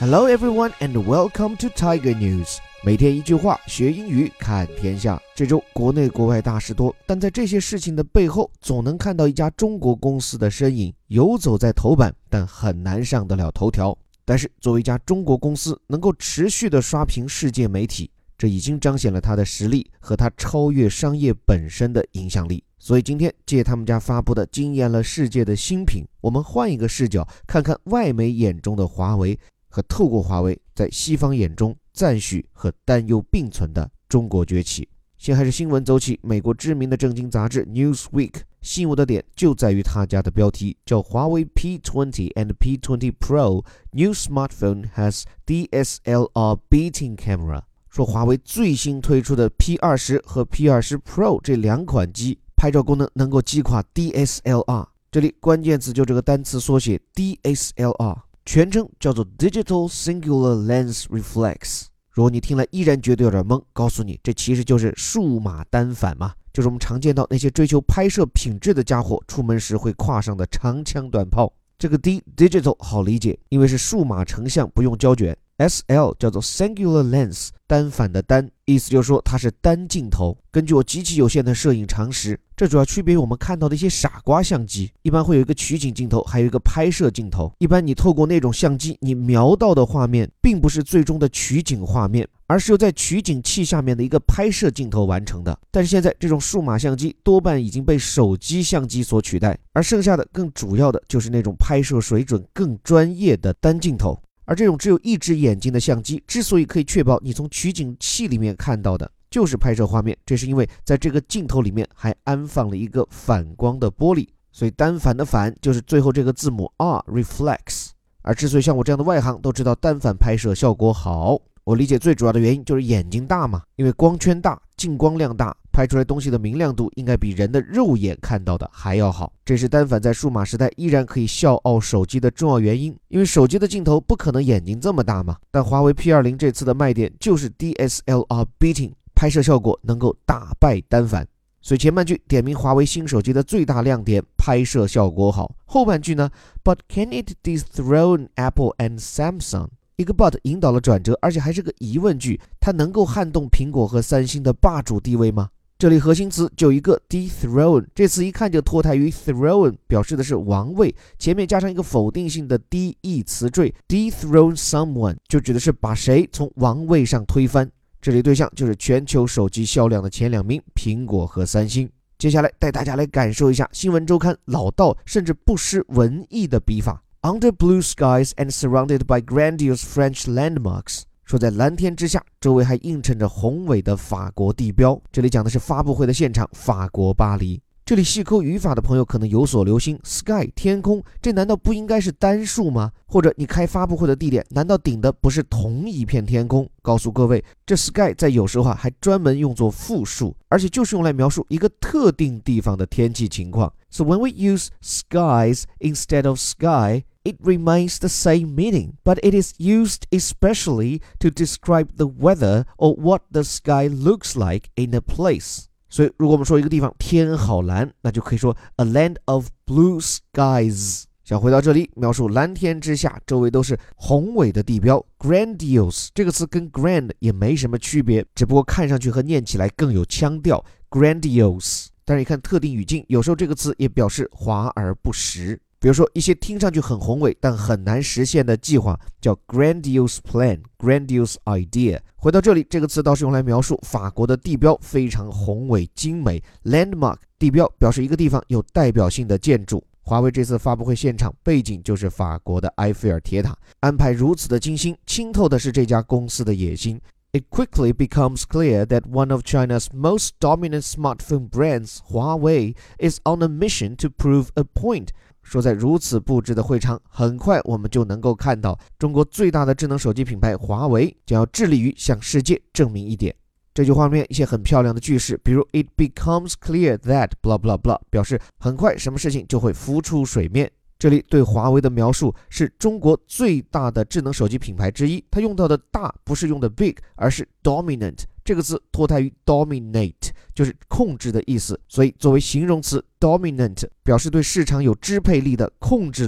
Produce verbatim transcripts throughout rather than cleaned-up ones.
Hello everyone and welcome to Tiger News。 每天一句话，学英语看天下。这周国内国外大事多，但在这些事情的背后，总能看到一家中国公司的身影，游走在头版，但很难上得了头条。但是作为一家中国公司，能够持续的刷屏世界媒体，这已经彰显了它的实力和它超越商业本身的影响力。所以今天借他们家发布的惊艳了世界的新品，我们换一个视角，看看外媒眼中的华为，和透过华为在西方眼中赞许和担忧并存的中国崛起。先还是新闻走起，美国知名的政经杂志 Newsweek 吸引我的点就在于他家的标题，叫华为 P 二十 and P 二十 Pro New Smartphone has D S L R Beating Camera。 说华为最新推出的 P 二十 和 P 二十 Pro 这两款机拍照功能能够击垮 D S L R， 这里关键词就这个单词缩写 D S L R，全称叫做 Digital Singular Lens Reflex。 如果你听了依然觉得有点懵，告诉你这其实就是数码单反嘛，就是我们常见到那些追求拍摄品质的家伙出门时会挎上的长枪短炮。这个 D Digital 好理解，因为是数码成像，不用胶卷。 S L 叫做 Singular Lens， 单反的单，意思就是说它是单镜头。根据我极其有限的摄影常识，这主要区别于我们看到的一些傻瓜相机，一般会有一个取景镜头，还有一个拍摄镜头。一般你透过那种相机，你瞄到的画面并不是最终的取景画面，而是由在取景器下面的一个拍摄镜头完成的。但是现在这种数码相机多半已经被手机相机所取代，而剩下的更主要的就是那种拍摄水准更专业的单镜头。而这种只有一只眼睛的相机之所以可以确保你从取景器里面看到的就是拍摄画面，这是因为在这个镜头里面还安放了一个反光的玻璃，所以单反的反就是最后这个字母 R Reflex。 而之所以像我这样的外行都知道单反拍摄效果好，我理解最主要的原因就是眼睛大嘛，因为光圈大，进光量大，拍出来东西的明亮度应该比人的肉眼看到的还要好。这是单反在数码时代依然可以笑傲手机的重要原因，因为手机的镜头不可能眼睛这么大嘛。但华为 P 二十 这次的卖点就是 D S L R Beating， 拍摄效果能够打败单反。所以前半句点名华为新手机的最大亮点，拍摄效果好。后半句呢 But can it dethrone Apple and Samsung？一个 but 引导了转折，而且还是个疑问句，它能够撼动苹果和三星的霸主地位吗？这里核心词就一个 dethrone， 这词一看就脱胎于 throne， 表示的是王位，前面加上一个否定性的 de 词缀 dethrone someone， 就指的是把谁从王位上推翻。这里对象就是全球手机销量的前两名，苹果和三星。接下来带大家来感受一下新闻周刊老道甚至不失文艺的笔法。Under blue skies and surrounded by grandiose French landmarks， 说在蓝天之下，周围还映衬着宏伟的法国地标。这里讲的是发布会的现场，法国巴黎。这里细抠语法的朋友可能有所留心， sky 天空，这难道不应该是单数吗？或者你开发布会的地点，难道顶的不是同一片天空？告诉各位，这 sky 在有时候还专门用作复数，而且就是用来描述一个特定地方的天气情况。 So when we use skies instead of sky, it remains the same meaning, but it is used especially to describe the weather or what the sky looks like in a place。所以如果我们说一个地方天好蓝，那就可以说 a land of blue skies。 想回到这里，描述蓝天之下周围都是宏伟的地标。 grandiose 这个词跟 grand 也没什么区别，只不过看上去和念起来更有腔调 grandiose。 但是你看特定语境，有时候这个词也表示华而不实。比如说一些听上去很宏伟但很难实现的计划，叫 grandiose plan grandiose idea。 回到这里，这个词倒是用来描述法国的地标非常宏伟精美。 landmark 地标表示一个地方有代表性的建筑。华为这次发布会现场背景就是法国的埃菲尔铁塔，安排如此的精心，清透的是这家公司的野心。It quickly becomes clear that one of China's most dominant smartphone brands, Huawei, is on a mission to prove a point。 说在如此布置的会场，很快我们就能够看到中国最大的智能手机品牌华为将要致力于向世界证明一点。这句话里面一些很漂亮的句式，比如 It becomes clear that blah blah blah， 表示很快什么事情就会浮出水面。这里对华为的描述是中国最大的智能手机品牌之一，它用到的大不是用的 big， 而是 dominant， 这个字脱胎于 dominate， 就是控制的意思，所以作为形容词 dominant 表示对市场有支配力的、控制力的。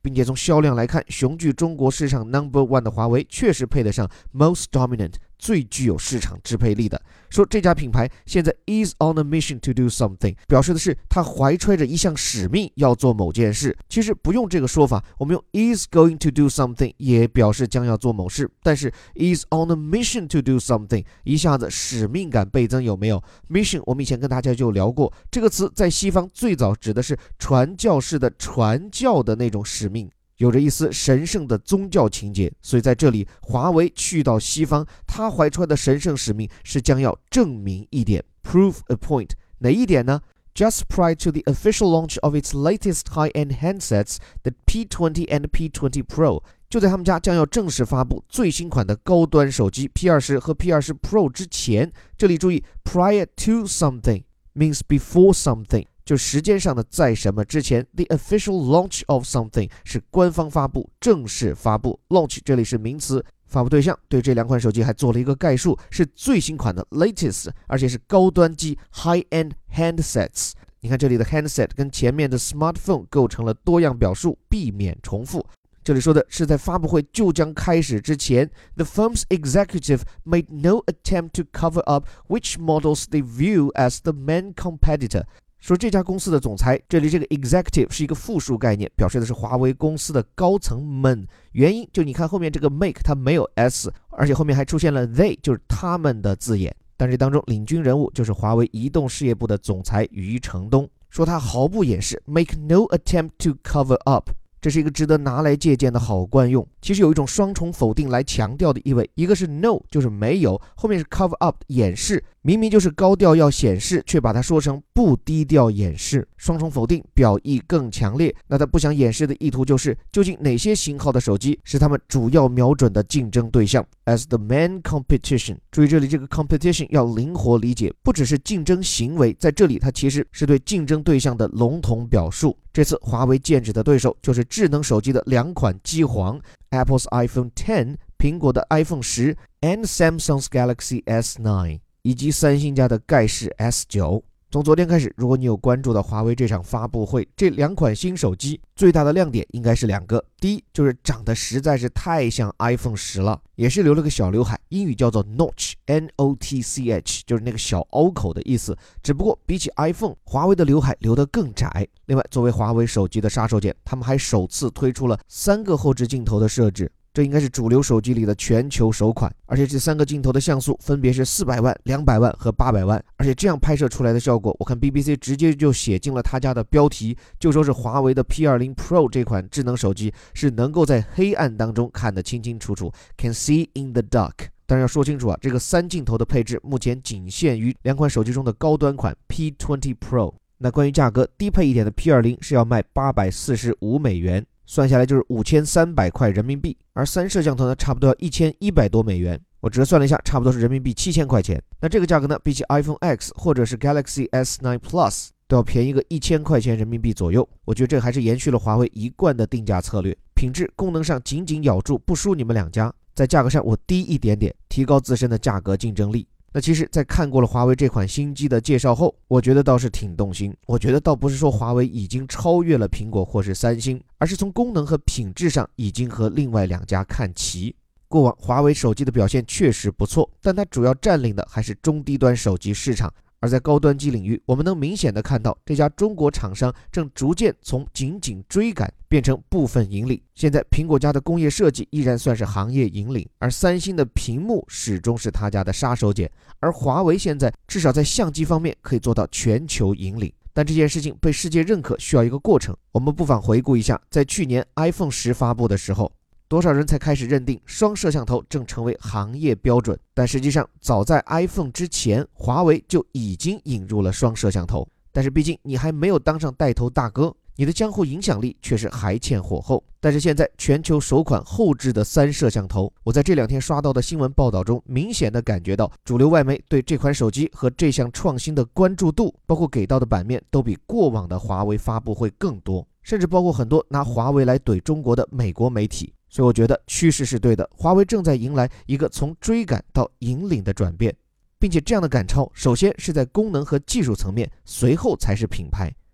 并且从销量来看，雄踞中国市场 number one 的华为确实配得上 most dominant， 最具有市场支配力的。说这家品牌现在 is on a mission to do something， 表示的是他怀揣着一项使命要做某件事。其实不用这个说法，我们用 is going to do something 也表示将要做某事，但是 is on a mission to do something 一下子使命感倍增，有没有？ mission 我们以前跟大家就聊过，这个词在西方最早指的是传教士的传教的那种使命，有着一丝神圣的宗教情节，所以在这里华为去到西方，他怀揣的神圣使命是将要证明一点 prove a point。 哪一点呢？ Just prior to the official launch of its latest high-end handsets, the P twenty and P twenty Pro， 就在他们家将要正式发布最新款的高端手机 P twenty 和 P twenty Pro 之前，这里注意 prior to something means before something，就时间上的在什么之前。 The official launch of something 是官方发布，正式发布。 Launch 这里是名词，发布对象对这两款手机还做了一个概述，是最新款的 latest， 而且是高端机 high-end handsets。 你看这里的 handset 跟前面的 smartphone 构成了多样表述，避免重复。这里说的是在发布会就将开始之前 The firm's executive made no attempt to cover up which models they view as the main competitor。说这家公司的总裁，这里这个 executive 是一个复数概念，表示的是华为公司的高层们。原因就你看后面这个 make 它没有 s， 而且后面还出现了 they， 就是他们的字眼。但这当中领军人物就是华为移动事业部的总裁余承东，说他毫不掩饰 make no attempt to cover up，这是一个值得拿来借鉴的好惯用。其实有一种双重否定来强调的意味，一个是 no 就是没有，后面是 cover up 掩饰，明明就是高调要显示，却把它说成不低调掩饰，双重否定表意更强烈。那他不想掩饰的意图就是究竟哪些型号的手机是他们主要瞄准的竞争对象 as the main competition。 注意这里这个 competition 要灵活理解，不只是竞争行为，在这里它其实是对竞争对象的笼统表述。这次华为剑指的对手就是智能手机的两款机皇 Apple's iPhone ten， 苹果的 iPhone ten and Samsung's Galaxy S nine， 以及三星家的盖世 S nine。 从昨天开始，如果你有关注到华为这场发布会，这两款新手机最大的亮点应该是两个。第一就是长得实在是太像 iPhone ten了，也是留了个小刘海，英语叫做 notch N O T C H， 就是那个小凹口的意思，只不过比起 iPhone， 华为的刘海留得更窄。另外作为华为手机的杀手锏，他们还首次推出了三个后置镜头的设置，这应该是主流手机里的全球首款，而且这三个镜头的像素分别是四百万、两百万和八百万，而且这样拍摄出来的效果，我看 B B C 直接就写进了他家的标题，就说是华为的 P twenty Pro 这款智能手机是能够在黑暗当中看得清清楚楚 ，can see in the dark。当然要说清楚啊，这个三镜头的配置目前仅限于两款手机中的高端款 P twenty Pro。那关于价格，低配一点的 P twenty 是要卖八百四十五美元。算下来就是五千三百块人民币，而三摄像头呢，差不多要一千一百多美元。我折算了一下，差不多是人民币七千块钱。那这个价格呢，比起 iPhone X 或者是 Galaxy S nine Plus 都要便宜个一千块钱人民币左右。我觉得这还是延续了华为一贯的定价策略，品质、功能上紧紧咬住，不输你们两家。在价格上我低一点点，提高自身的价格竞争力。那其实在看过了华为这款新机的介绍后，我觉得倒是挺动心。我觉得倒不是说华为已经超越了苹果或是三星，而是从功能和品质上已经和另外两家看齐。过往华为手机的表现确实不错，但它主要占领的还是中低端手机市场，而在高端机领域，我们能明显的看到这家中国厂商正逐渐从紧紧追赶变成部分引领。现在苹果家的工业设计依然算是行业引领，而三星的屏幕始终是他家的杀手锏，而华为现在至少在相机方面可以做到全球引领。但这件事情被世界认可需要一个过程，我们不妨回顾一下，在去年 iPhone ten发布的时候，多少人才开始认定双摄像头正成为行业标准，但实际上早在 iPhone 之前，华为就已经引入了双摄像头。但是毕竟你还没有当上带头大哥，你的江湖影响力却是还欠火候。但是现在全球首款后置的三摄像头，我在这两天刷到的新闻报道中明显的感觉到，主流外媒对这款手机和这项创新的关注度，包括给到的版面都比过往的华为发布会更多，甚至包括很多拿华为来怼中国的美国媒体。所以我觉得趋势是对的，华为正在迎来一个从追赶到引领的转变，并且这样的赶超首先是在功能和技术层面，随后才是品牌。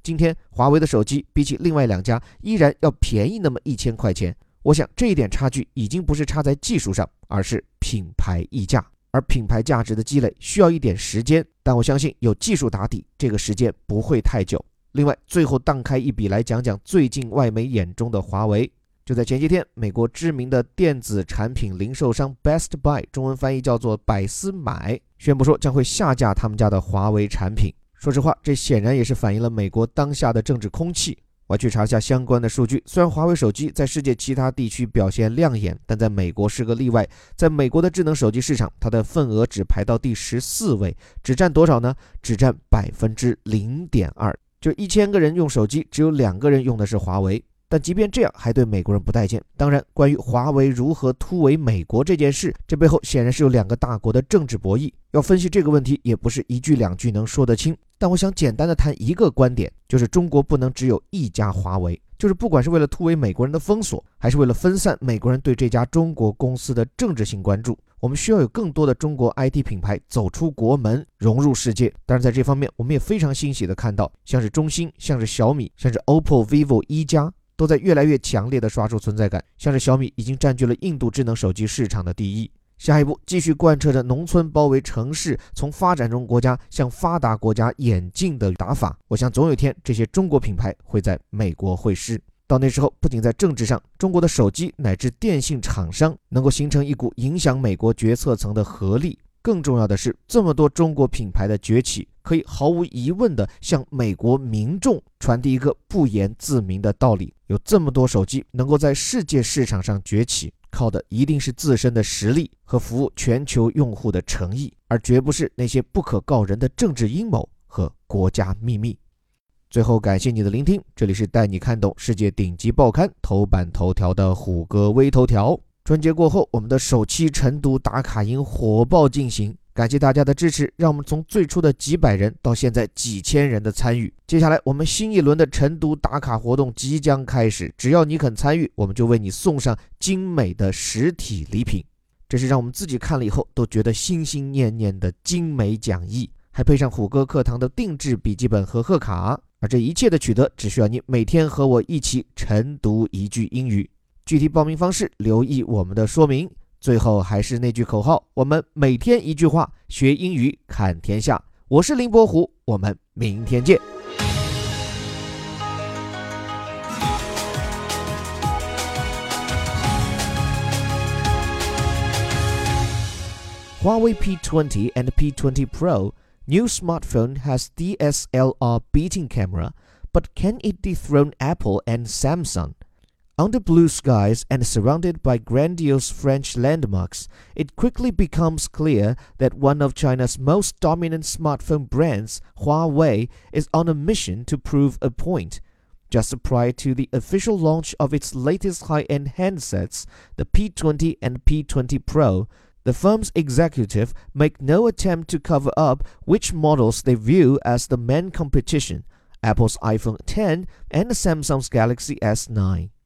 今天华为的手机比起另外两家依然要便宜那么一千块钱。我想这一点差距已经不是差在技术上，而是品牌溢价。而品牌价值的积累需要一点时间，但我相信有技术打底，这个时间不会太久。另外，最后荡开一笔来讲讲最近外媒眼中的华为。就在前几天，美国知名的电子产品零售商 Best Buy， 中文翻译叫做百思买，宣布说将会下架他们家的华为产品。说实话，这显然也是反映了美国当下的政治空气。我去查一下相关的数据，虽然华为手机在世界其他地区表现亮眼，但在美国是个例外。在美国的智能手机市场，它的份额只排到第十四位，只占多少呢？只占百分之零点二，就一千个人用手机，只有两个人用的是华为。但即便这样，还对美国人不待见。当然，关于华为如何突围美国这件事，这背后显然是有两个大国的政治博弈。要分析这个问题，也不是一句两句能说得清。但我想简单的谈一个观点，就是中国不能只有一家华为，就是不管是为了突围美国人的封锁，还是为了分散美国人对这家中国公司的政治性关注，我们需要有更多的中国 I T 品牌走出国门，融入世界。当然在这方面，我们也非常欣喜的看到，像是中兴，像是小米，像是 O P P O、vivo、一加，都在越来越强烈的刷出存在感。像是小米已经占据了印度智能手机市场的第一。下一步继续贯彻着农村包围城市，从发展中国家向发达国家演进的打法，我想总有一天这些中国品牌会在美国会师。到那时候，不仅在政治上，中国的手机乃至电信厂商能够形成一股影响美国决策层的合力，更重要的是，这么多中国品牌的崛起，可以毫无疑问地向美国民众传递一个不言自明的道理：有这么多手机能够在世界市场上崛起，靠的一定是自身的实力和服务全球用户的诚意，而绝不是那些不可告人的政治阴谋和国家秘密。最后感谢你的聆听，这里是带你看懂世界顶级报刊头版头条的虎哥微头条。春节过后，我们的首期成都打卡营火爆进行，感谢大家的支持，让我们从最初的几百人到现在几千人的参与。接下来我们新一轮的成都打卡活动即将开始，只要你肯参与，我们就为你送上精美的实体礼品。这是让我们自己看了以后都觉得心心念念的精美讲义，还配上虎哥课堂的定制笔记本和贺卡。而这一切的取得，只需要你每天和我一起晨读一句英语。具体报名方式留意我们的说明。最后还是那句口号，我们每天一句话，学英语看天下。我是林伯虎，我们明天见。Huawei P twenty and P twenty Pro new smartphone has D S L R beating camera, but can it dethrone Apple and Samsung? Under blue skies and surrounded by grandiose French landmarks, it quickly becomes clear that one of China's most dominant smartphone brands, Huawei, is on a mission to prove a point. Just prior to the official launch of its latest high-end handsets, the P twenty and P twenty Pro, the firm's executive make no attempt to cover up which models they view as the main competition, Apple's iPhone ten and Samsung's Galaxy S nine.